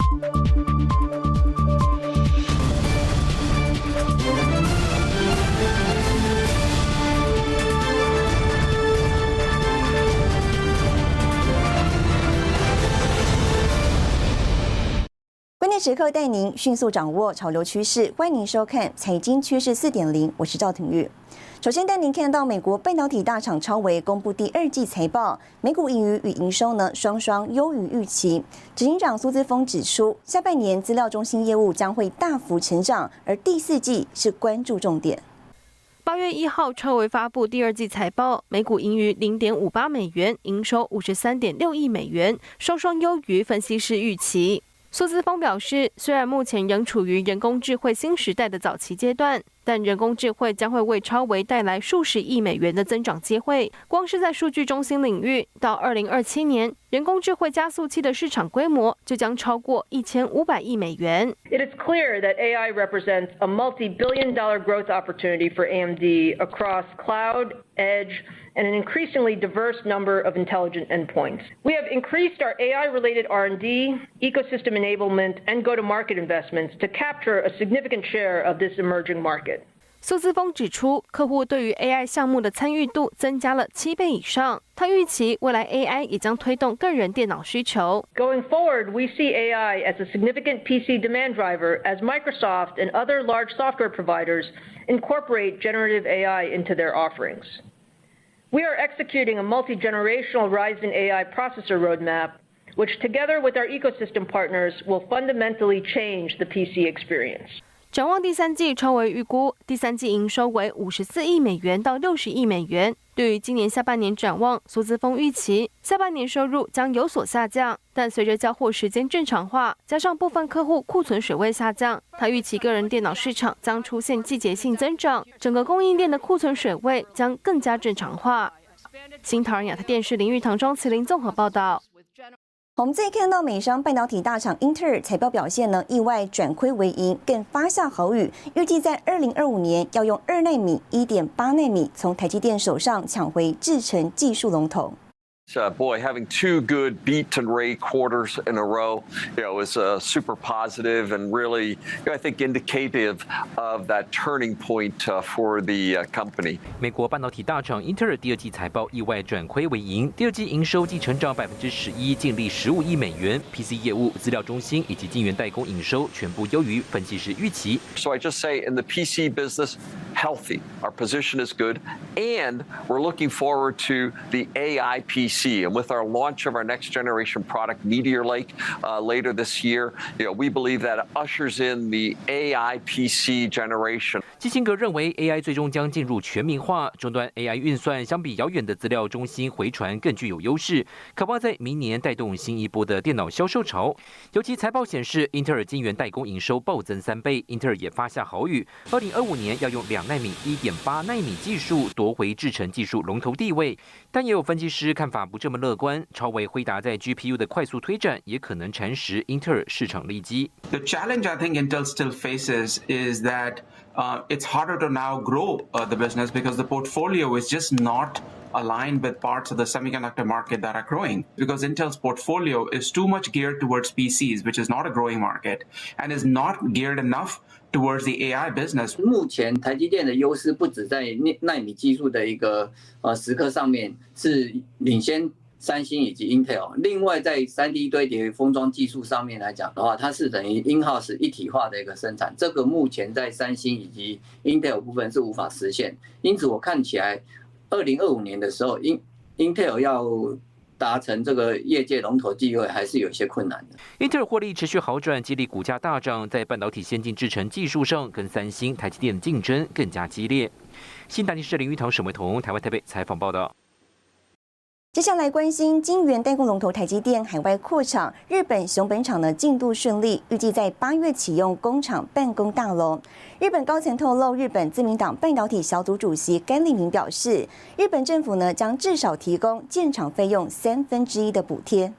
关键时刻带您迅速掌握潮流趋势，欢迎您收看《财经趋势4.0》，我是赵廷玉。首先带您看到美国半导体大厂超微公布第二季财报，每股盈余与营收呢双双优于预期。执行长苏姿丰指出，下半年资料中心业务将会大幅成长，而第四季是关注重点。 8月1号，超微发布第二季财报，每股盈余0.58美元，营收53.6亿美元，双双优于分析师预期。苏姿丰表示，虽然目前仍处于人工智慧新时代的早期阶段，但人工智慧将会为超微带来数十亿美元的增长机会。光是在数据中心领域，到2027年，人工智慧加速器的市场规模就将超过1500亿美元。 It is clear that AI represents a multi-billion-dollar growth opportunity for AMD across cloud, edge, and an increasingly diverse number of intelligent endpoints. We have increased our AI-related R&D, ecosystem enablement, and go-to-market investments to capture a significant share of this emerging market. 苏姿丰指出，客户对于 AI 项目的参与度增加了7倍以上。他预期未来 AI 也将推动个人电脑需求。 Going forward, we see AI as a significant PC demand driver as Microsoft and other large software providers incorporate generative AI into their offerings. We are executing a multi-generational Ryzen AI processor roadmap, which together with our ecosystem partners will fundamentally change the PC experience. 展望第三季，超微预估第三季营收为54亿美元到60亿美元。对于今年下半年展望，苏姿丰预期下半年收入将有所下降，但随着交货时间正常化，加上部分客户库存水位下降，他预期个人电脑市场将出现季节性增长，整个供应链的库存水位将更加正常化。新唐人亚太电视林玉堂、庄麒麟综合报道。 我们再看到美商半导体大厂英特尔财报表现呢，意外转亏为盈，更发下豪语，预计在2025年要用2奈米、1.8奈米从台积电手上抢回制程技术龙头。 Boy, having two good beat and rate quarters in a row, is super positive and really, I think, indicative of that turning point for the company. 美国半导体大厂英特尔第二季财报意外转亏为盈，第二季营收季成长11%，净利15亿美元。PC 业务、资料中心以及晶圆代工营收全部优于分析师预期。 So I just say in the PC business, healthy. Our position is good, and we're looking forward to the AI PC. And with our launch of our next generation product, Meteor Lake, later this year, we believe that ushers in the AI PC generation. 基辛格认为 AI 最终将进入全民化，终端 AI 运算相比遥远的资料中心回传更具有优势，渴望在明年带动新一波的电脑销售潮。尤其财报显示，英特尔晶圆代工营收暴增3倍，英特尔也发下豪语，2025年要用2奈米、1.8奈米技术夺回制程技术龙头地位。但也有分析师看法不这么乐观，超微辉达在 GPU 的快速推展也可能蚕食英特尔市场利基。 The challenge I think Intel still faces is that it's harder to now grow the business because the portfolio is just not aligned with parts of the semiconductor market that are growing, because Intel's portfolio is too much geared towards PCs, which is not a growing market, and is not geared enough towards the AI business. 目前台积电的优势不止在奈米技术的一个时刻上面是领先三星以及 Intel， 另外在 3D 堆叠封装技术上面来讲的话，它是等于 in-house 一体化的一个生产，这个目前在三星以及 Intel 部分是无法实现，因此我看起来2025年的时候 Intel 要达成这个业界龙头地位还是有一些困难的。 英特尔获利持续好转，激励股价大涨，在半导体先进制程技术上跟三星、台积电的竞争更加激烈。新台电视林玉堂、沈维彤，台湾台北采访报道。 接下来关心晶圆代工龙头台积电海外扩厂，日本熊本厂的进度顺利，预计在8月启用工厂办公大楼。日本高层透露，日本自民党半导体小组主席甘利明表示，日本政府呢将至少提供建厂费用1/3的补贴。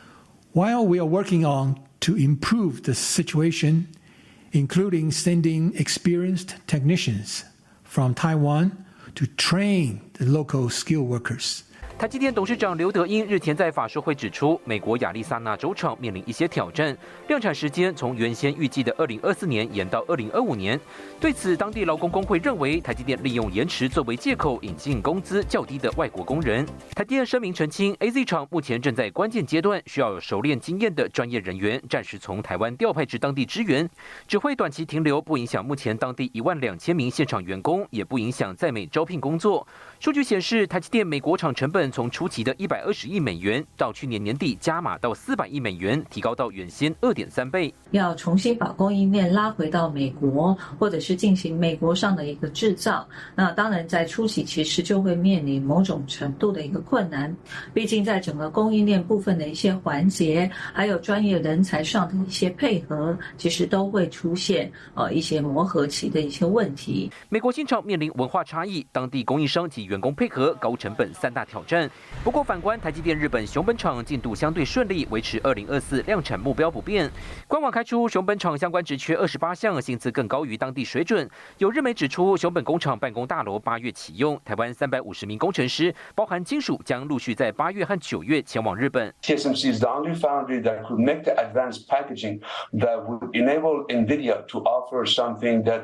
While we are working on to improve the situation, including sending experienced technicians from Taiwan to train the local skilled workers. 台积电董事长刘德英日前在法说会指出，美国亚利桑那州厂面临一些挑战，量产时间从原先预计的2024年延到2025年。对此，当地劳工工会认为，台积电利用延迟作为借口引进工资较低的外国工人。台积电声明澄清 ，AZ 厂目前正在关键阶段，需要有熟练经验的专业人员暂时从台湾调派至当地支援，只会短期停留，不影响目前当地12000名现场员工，也不影响在美招聘工作。数据显示，台积电美国厂成本从初期的120亿美元，到去年年底加码到400亿美元，提高到原先2.3倍。 要重新把供应链拉回到美国，或者是进行美国上的一个制造，那当然在初期其实就会面临某种程度的一个困难。毕竟在整个供应链部分的一些环节，还有专业人才上的一些配合，其实都会出现一些磨合期的一些问题。 美国新厂面临文化差异、当地供应商及员工配合、高成本3大挑战。不过反观台积电日本熊本厂进度相对顺利，维持2024量产目标不变。官网开出熊本厂相关职缺28项，薪资更高于当地水准。有日媒指出，熊本工厂办公大楼8月启用，台湾350名工程师，包含金属，将陆续在8月和9月前往日本。 TSMC is the only foundry that could make the advanced packaging that would enable NVIDIA to offer something that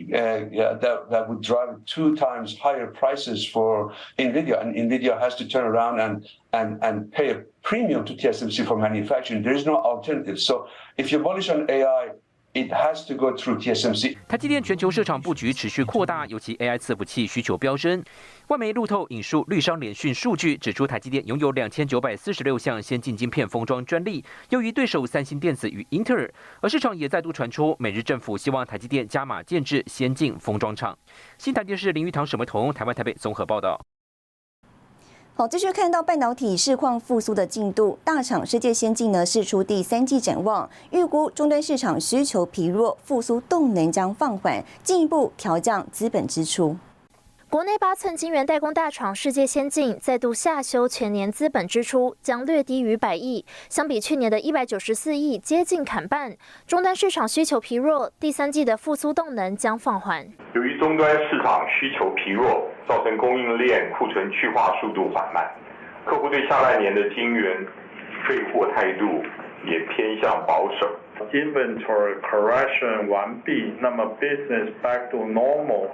would drive 2 times higher prices for NVIDIA, and NVIDIA has to turn around and pay a premium to TSMC for manufacturing. There is no alternative. So if you're bullish on AI,It has to go through TSMC. 台积电全球设厂布局持续扩大，尤其 AI 伺服器需求飙升。外媒路透引述绿商联讯数据，指出台积电拥有2946项先进晶片封装专利，优于对手三星电子与英特尔。而市场也再度传出，美日政府希望台积电加码建制先进封装厂。新台电视林玉堂、沈维彤，台湾台北综合报道。 好，继续看到半导体市况复苏的进度，大厂世界先进呢释出第3季展望，预估终端市场需求疲弱，复苏动能将放缓，进一步调降资本支出。 国内8寸晶圆代工大厂世界先进再度下修全年资本支出，将略低于100亿，相比去年的194亿，接近砍半。终端市场需求疲弱，第3季的复苏动能将放缓。 由于终端市场需求疲弱，造成供应链库存去化速度缓慢，客户对下半年的晶圆备货态度也偏向保守。 Inventory correction 完毕，那么 business back to normal。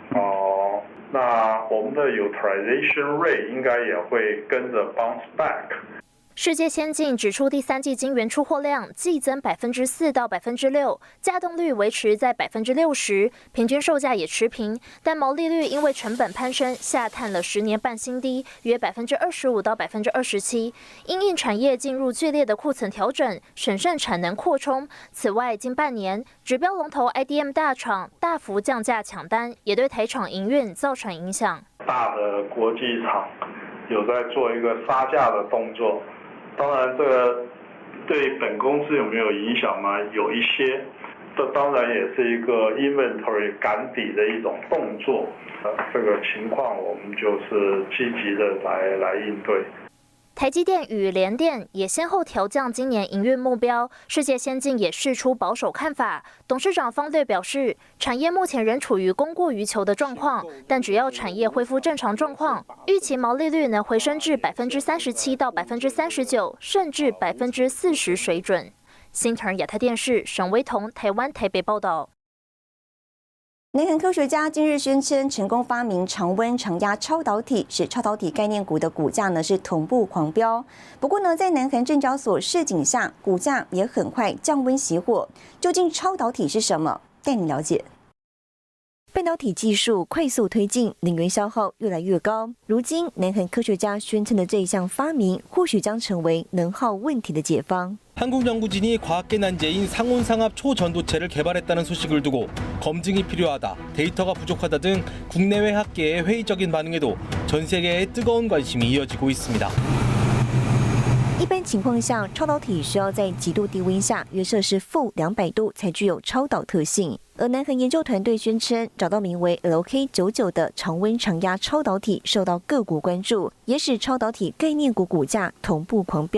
那我们的 utilization rate 应该也会跟着 bounce back。 世界先进指出，第3季晶圆出货量季增4%到6%，稼动率维持在60%，平均售价也持平，但毛利率因为成本攀升下探了10年半新低，约25%到27%。因应产业进入剧烈的库存调整，审慎产能扩充。此外，近半年指标龙头 IDM 大厂大幅降价抢单，也对台厂营运造成影响。 大的国际厂有在做一个杀价的动作。当然，这个对本公司有没有影响吗？有一些，这当然也是一个 inventory 赶底的一种动作。这个情况我们就是积极的来应对。 台积电与联电也先后调降今年营运目标，世界先进也释出保守看法。董事长方略表示，产业目前仍处于供过于求的状况，但只要产业恢复正常状况，预期毛利率能回升至37%到39%，甚至40%水准。新唐亚太电视沈维彤，台湾台北报道。 南韩科学家今日宣称成功发明常温常压超导体，使超导体概念股的股价呢是同步狂飙。不过呢，在南韩证交所示警下，股价也很快降温熄火。究竟超导体是什么？带你了解。半导体技术快速推进，能源消耗越来越高。如今，南韩科学家宣称的这一项发明，或许将成为能耗问题的解方。 한국 연구진이 과학계 난제인 상온상압 초전도체를 개발했다는 소식을 두고 검증이 필요하다, 데이터가 부족하다 등 국내외 학계의 회의적인 반응에도 전 세계의 뜨거운 관심이 이어지고 있습니다. 一般情况下，超导体需要在极度低温下，约摄氏-200度才具有超导特性。而南韩研究团队宣称，找到名为 LK99 的常温常压超导体，受到各国关注，也使超导体概念股股价同步狂飙。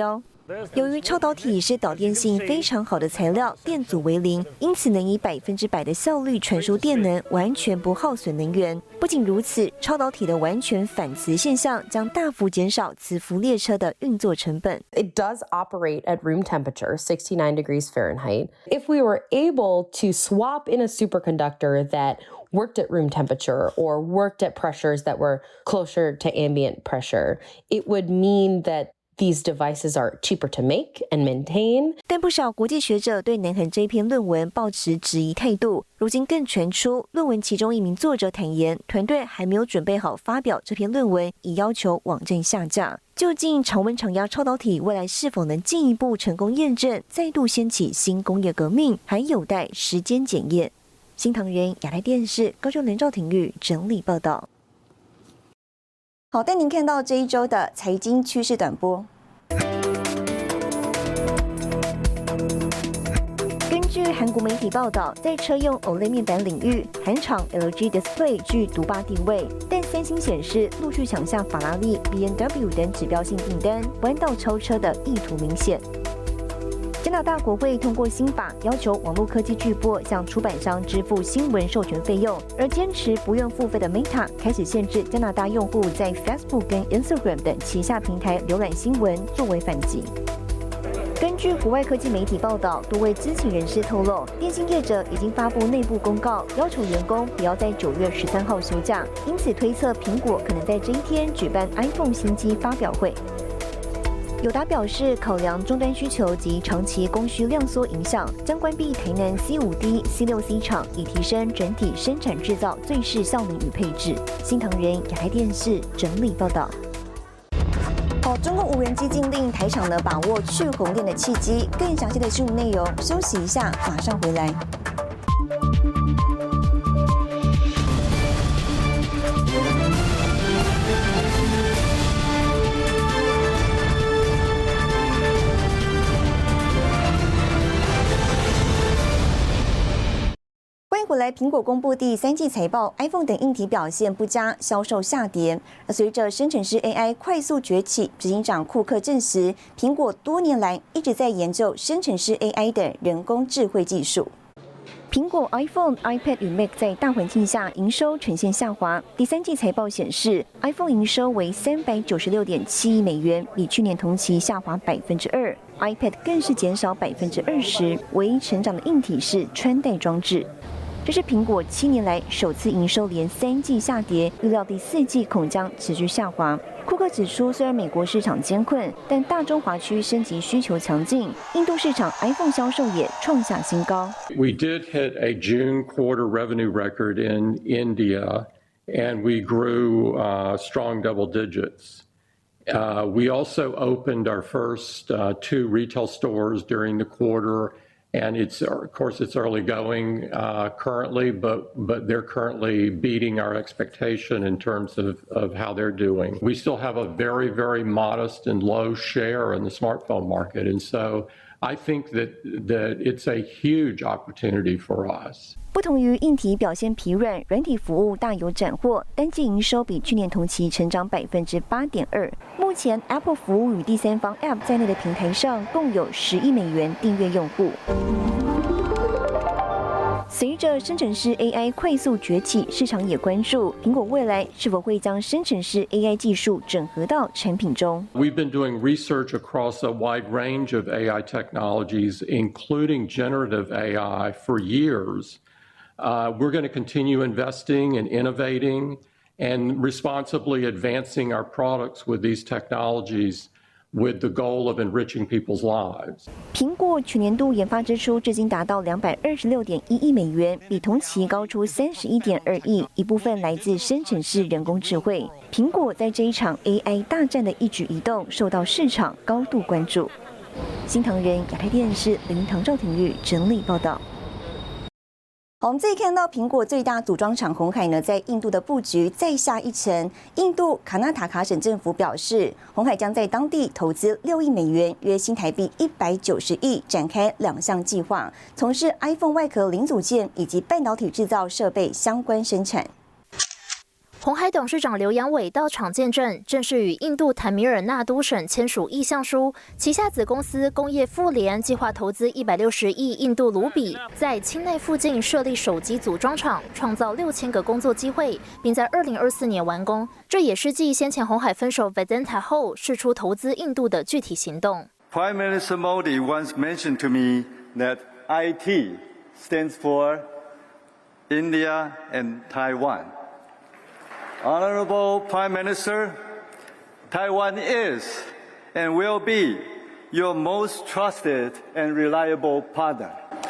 由于超导体是导电性非常好的材料，电阻为零，因此能以100%的效率传输电能，完全不耗损能源。不仅如此，超导体的完全反磁现象将大幅减少磁浮列车的运作成本。 It does operate at room temperature, 69 degrees Fahrenheit. If we were able to swap in a superconductor that worked at room temperature or worked at pressures that were closer to ambient pressure, it would mean that these devices are cheaper to make and maintain. 但不少国际学者对南韩这一篇论文抱持质疑态度。如今更传出，论文其中一名作者坦言，团队还没有准备好发表这篇论文，已要求网站下架。究竟常温常压超导体未来是否能进一步成功验证，再度掀起新工业革命，还有待时间检验。新唐人亚太电视高雄人赵廷玉整理报道。好，带您看到这一周的财经趋势短波。根据韩国媒体报道，在车用 OLED 面板领域，韩厂 LG Display 居独霸地位，但三星显示陆续抢下法拉利、BMW 等指标性订单，弯道超车的意图明显。加拿大国会通过新法，要求网络科技巨擘向出版商支付新闻授权费用，而坚持不用付费的 Meta 开始限制加拿大用户在 Facebook 跟 Instagram 等旗下平台浏览新闻，作为反击。根据国外科技媒体报道，多位知情人士透露，电信业者已经发布内部公告，要求员工不要在9月13号休假，因此推测苹果可能在这一天举办 iPhone 新机发表会。友达表示，考量终端需求及长期供需量缩影响，将关闭台南 C5D、C6C 厂，以提升整体生产制造最适效能与配置。新唐人亚太电视整理报道。好，中共无人机禁令台厂呢把握去红电的契机。更详细的新闻内容，休息一下，马上回来。回来，苹果公布第3季财报 ，iPhone 等硬体表现不佳，销售下跌。而随着生成式 AI 快速崛起，执行长库克证实，苹果多年来一直在研究生成式 AI 等人工智慧技术。苹果 iPhone、iPad 与 Mac 在大环境下营收呈现下滑。第3季财报显示 ，iPhone 营收为396.7亿美元，比去年同期下滑2%；iPad 更是减少20%。唯一成长的硬体是穿戴装置。这是苹果7年来首次营收连3季下跌，预料第4季恐将持续下滑。库克指出，虽然美国市场艰困，但大中华区升级需求强劲，印度市场 iPhone 销售也创下新高。 We did hit a June quarter revenue record in India, and we grew strong double digits. We also opened our first 2 retail stores during the quarter. And of course, it's early going currently, but they're currently beating our expectation in terms of how they're doing. We still have a very, very modest and low share in the smartphone market, and so I think that it's a huge opportunity for us. 不同于硬体表现疲软，软体服务大有斩获，单季营收比去年同期成长8.2%。目前 Apple 服务与第三方 App 在内的平台上共有10亿美元订阅用户。随着生成式 AI 快速崛起，市场也关注苹果未来是否会将生成式 AI 技术整合到产品中。 We've been doing research across a wide range of AI technologies, including generative AI, for years. We're going to continue investing and innovating and responsibly advancing our products with these technologies with the goal of enriching people's lives. 苹果去年度研发支出至今达到226.1亿美元，比同期高出31.2亿，一部分来自生成式人工智慧。苹果在这一场 AI 大战的一举一动受到市场高度关注。新唐人亚太电视林唐赵廷玉整理报道。好，我们这里看到苹果最大组装厂鸿海呢，在印度的布局再下一城。印度卡纳塔卡省政府表示，鸿海将在当地投资6亿美元，约新台币190亿，展开2项计划，从事 iPhone 外壳零组件以及半导体制造设备相关生产。 鸿海董事长刘扬伟到场见证，正式与印度坦米尔纳都省签署意向书，旗下子公司工业富联计划投资160亿印度卢比，在钦内附近设立手机组装厂，创造6000个工作机会，并在2024年完工。这也是继先前鸿海分手 Vedanta 后，释出投资印度的具体行动。 Prime Minister Modi once mentioned to me that IT stands for India and Taiwan. Honorable Prime Minister, Taiwan is and will be your most trusted and reliable partner.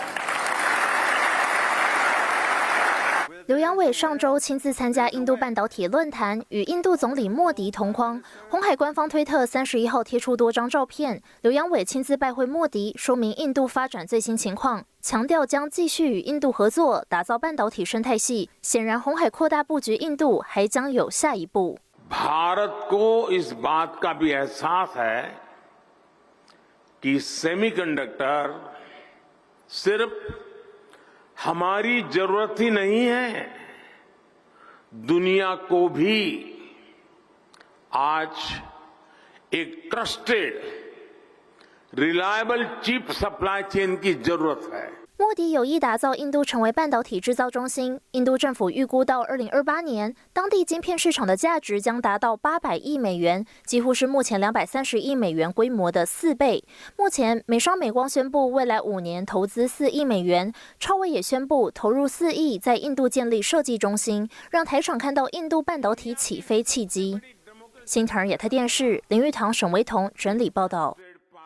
刘扬伟上周亲自参加印度半导体论坛，与印度总理莫迪同框。鸿海官方推特31号贴出多张照片，刘扬伟亲自拜会莫迪，说明印度发展最新情况，强调将继续与印度合作，打造半导体生态系。显然，鸿海扩大布局印度还将有下一步。 भारत को इस बात का भी एहसास है कि सेमीकंडक्टर सिर्फ हमारी जरूरत ही नहीं है, दुनिया को भी आज एक trusted reliable chip supply chain की जरूरत है। 莫迪有意打造印度成为半导体制造中心。印度政府预估到2028年，当地晶片市场的价值将达到800亿美元，几乎是目前230亿美元规模的4倍。目前，美商美光宣布未来5年投资4亿美元，超微也宣布投入4亿在印度建立设计中心，让台厂看到印度半导体起飞契机。新唐人亚太电视林玉堂、沈维彤整理报道。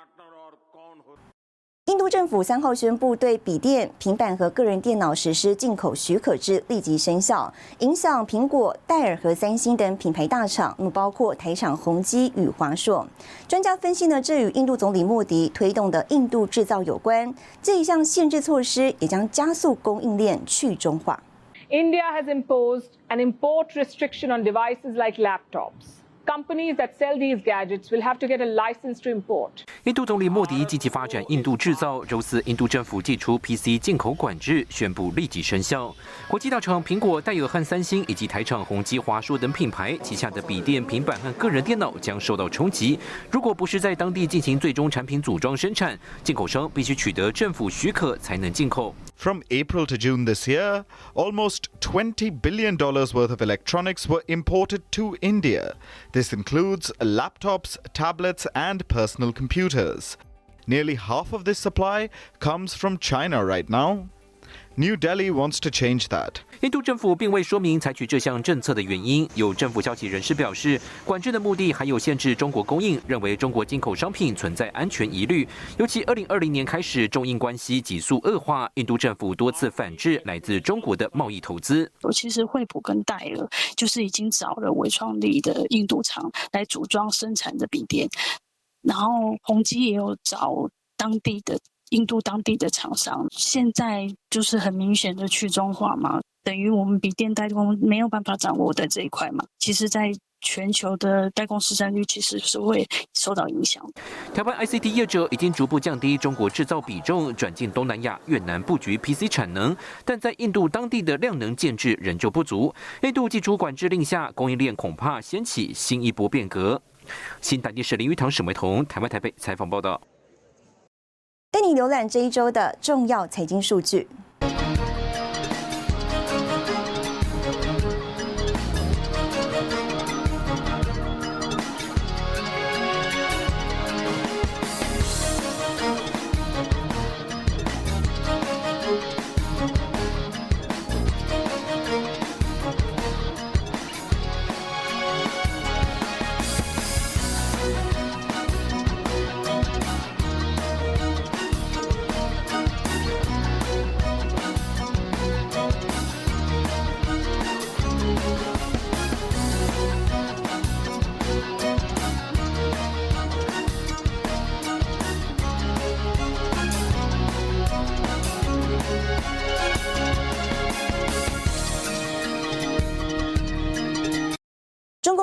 印度政府3号宣布，对笔电、平板和个人电脑实施进口许可制立即生效，影响苹果、戴尔和三星等品牌大厂，包括台厂宏基与华硕。专家分析呢，这与印度总理莫迪推动的印度制造有关。这一项限制措施也将加速供应链去中化。 India has imposed an import restriction on devices like laptops.Companies that sell these gadgets will have to get a license to import. 印度总理莫迪积极发展印度制造，周四印度政府祭出 PC 进口管制，宣布立即生效。国际大厂苹果、戴尔和三星以及台厂宏基、华硕等品牌旗下的笔电、平板和个人电脑将受到冲击。如果不是在当地进行最终产品组装生产，进口商必须取得政府许可才能进口。 From April to June this year, almost $20 billion worth of electronics were imported to India. This includes laptops, tablets, and personal computers. Nearly half of this supply comes from China right now. New Delhi wants to change that. 印度政府并未说明采取这项政策的原因。有政府消息人士表示，管制的目的还有限制中国供应，认为中国进口商品存在安全疑虑。尤其2020年开始，中印关系急速恶化，印度政府多次反制来自中国的贸易投资。 其实惠普跟戴尔就是已经找了微创力的印度厂来组装生产的笔电，然后宏基也有找印度当地的厂商，现在就是很明显的去中化嘛，等于我们笔电代工没有办法掌握在这一块嘛。其实，在全球的代工市占率其实是会受到影响。 台湾 ICT 业者已经逐步降低中国制造比重，转进东南亚、越南布局 PC 产能，但在印度当地的量能建制仍旧不足。印度祭出管制令下，供应链恐怕掀起新一波变革。新台电视林玉堂、沈维彤，台湾台北采访报道。 带你浏览这一周的重要财经数据。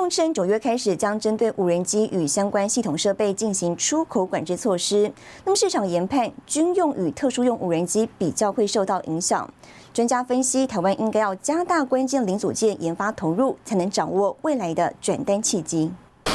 通称9月开始将针对无人机与相关系统设备进行出口管制措施。那么市场研判，军用与特殊用无人机比较会受到影响。专家分析，台湾应该要加大关键零组件研发投入，才能掌握未来的转单契机。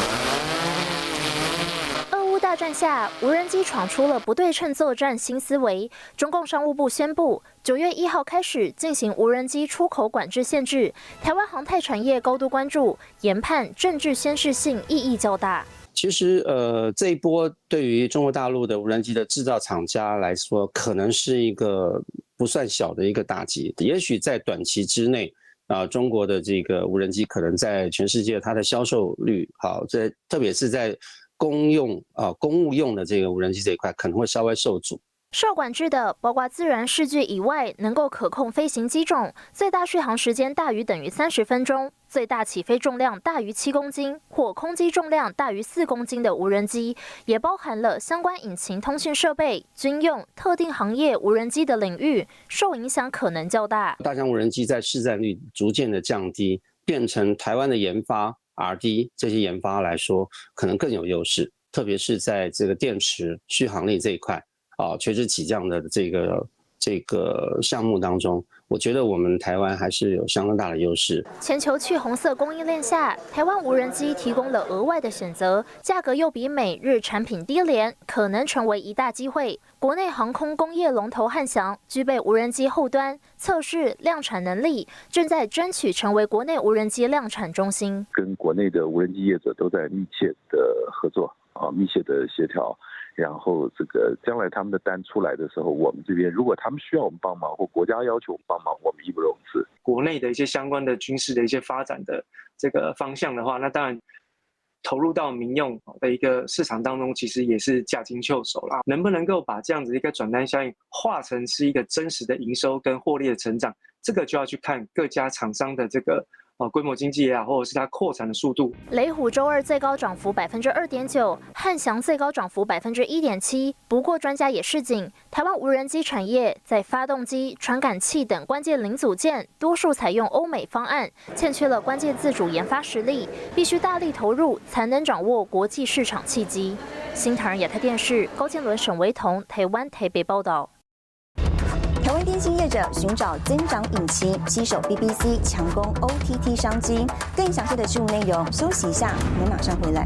大战下，无人机闯出了不对称作战新思维。中共商务部宣布，9月1号开始进行无人机出口管制限制。台湾航太产业高度关注，研判政治宣示性意义较大。 其实，这一波对于中国大陆的无人机的制造厂家来说，可能是一个不算小的一个打击。也许在短期之内，中国的这个无人机可能在全世界它的销售率，特别是在公务用的这个无人机这一块可能会稍微受阻。 受管制的包括自然视距以外能够可控飞行机种，最大续航时间大于等于30分钟，最大起飞重量大于7公斤或空机重量大于4公斤的无人机，也包含了相关引擎通讯设备、军用、特定行业无人机的领域，受影响可能较大。 大疆无人机在市占率逐渐的降低，变成台湾的研发R&D 这些研发来说，可能更有优势，特别是在这个电池续航力这一块，垂直起降的这个项目当中，我觉得我们台湾还是有相当大的优势。 全球去红色供应链下，台湾无人机提供了额外的选择，价格又比美日产品低廉，可能成为一大机会。国内航空工业龙头汉翔具备无人机后端测试量产能力，正在争取成为国内无人机量产中心。 跟国内的无人机业者都在密切的合作密切的协调。然后这个将来他们的单出来的时候，我们这边如果他们需要我们帮忙，或国家要求我们帮忙，我们义不容辞。 国内的一些相关的军事的一些发展的这个方向的话，那当然投入到民用的一个市场当中，其实也是驾轻就熟啦。能不能够把这样子一个转单效应化成是一个真实的营收跟获利的成长，这个就要去看各家厂商的这个规模经济或者是它扩产的速度。 雷虎周二最高涨幅2.9%，汉翔最高涨幅1.7%。不过专家也示警，台湾无人机产业在发动机、传感器等关键零组件，多数采用欧美方案，欠缺了关键自主研发实力，必须大力投入，才能掌握国际市场契机。新唐人亚太电视高建伦、沈维彤，台湾台北报道。 台湾电信业者寻找增长引擎，携手 BBC 强攻 OTT 商机。更详细的新闻内容，休息一下，我们马上回来。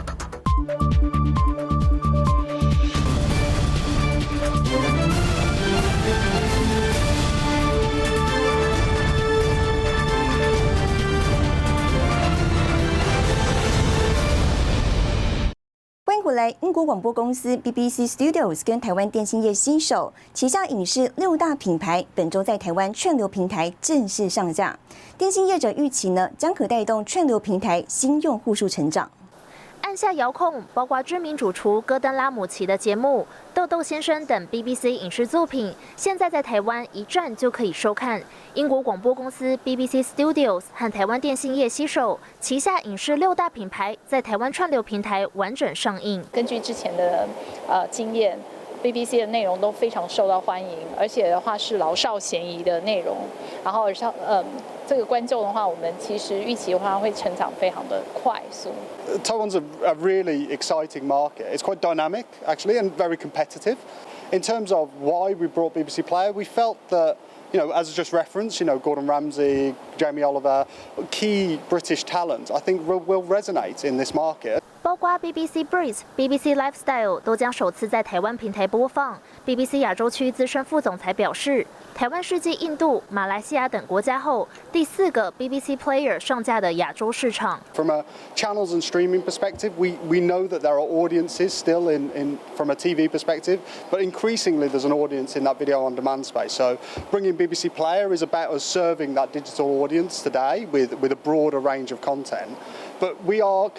欢迎回来！英国广播公司 BBC Studios 跟台湾电信业携手，旗下影视6大品牌本周在台湾串流平台正式上架。电信业者预期呢，将可带动串流平台新用户数成长。 按下遥控，包括知名主厨戈登拉姆齐的节目《豆豆先生》等 BBC 影视作品，现在在台湾一站就可以收看。英国广播公司 BBC Studios 和台湾电信业携手，旗下影视6大品牌在台湾串流平台完整上映。 根据之前的经验 ，BBC 的内容都非常受到欢迎，而且的话是老少咸宜的内容。然后这个观众的话，我们其实预期的话会成长非常的快速。 Taiwan's a really exciting market. It's quite dynamic, actually, and very competitive. In terms of why we brought BBC Player, we felt that, as I just referenced, Gordon Ramsay, Jamie Oliver, key British talent, I think will resonate in this market. 包括 BBC Breeze、BBC Lifestyle 都将首次在台湾平台播放。BBC 亚洲区资深副总裁表示，台湾是继印度、马来西亚等国家后，第4个 BBC Player 上架的亚洲市场。 From a channels and streaming perspective, we know that there are audiences still in from a TV perspective, but increasingly there's an audience in that video on demand space. So bringing BBC Player is about us serving that digital audience today with a broader range of content. But we will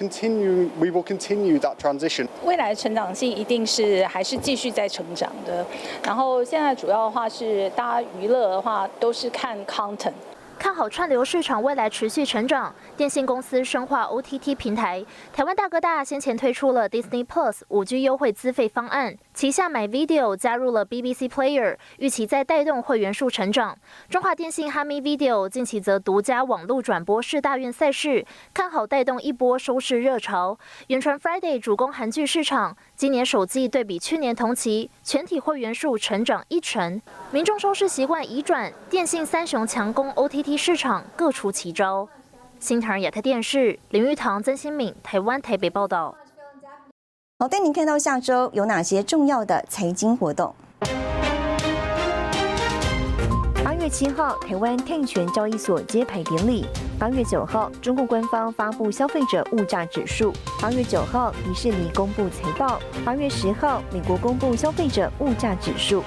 continue that transition. 未来的成长性一定是还是继续在成长的。然后现在主要的话是大家娱乐的话都是看 content。 看好串流市场未来持续成长，电信公司深化 OTT 平台。台湾大哥大先前推出了 Disney Plus 5G 优惠资费方案， 旗下MyVideo 加入了 BBC Player， 预期在带动会员数成长。中华电信 Hami Video 近期则独家网络转播世大运赛事，看好带动一波收视热潮。远传 Friday 主攻韩剧市场，今年首季对比去年同期，全体会员数成长1成。民众收视习惯移转，电信三雄强攻 OTT 市场，各出奇招。新唐人亚太电视林玉堂、曾新敏，台湾台北报道。 好，带您看到下周有哪些重要的财经活动。8月7号，台湾碳权交易所揭牌典礼。8月9号，中共官方发布消费者物价指数。8月9号，迪士尼公布财报。8月10号，美国公布消费者物价指数。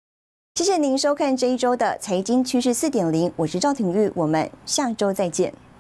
谢谢您收看这一周的财经趋势4.0，我是赵廷玉，我们下周再见。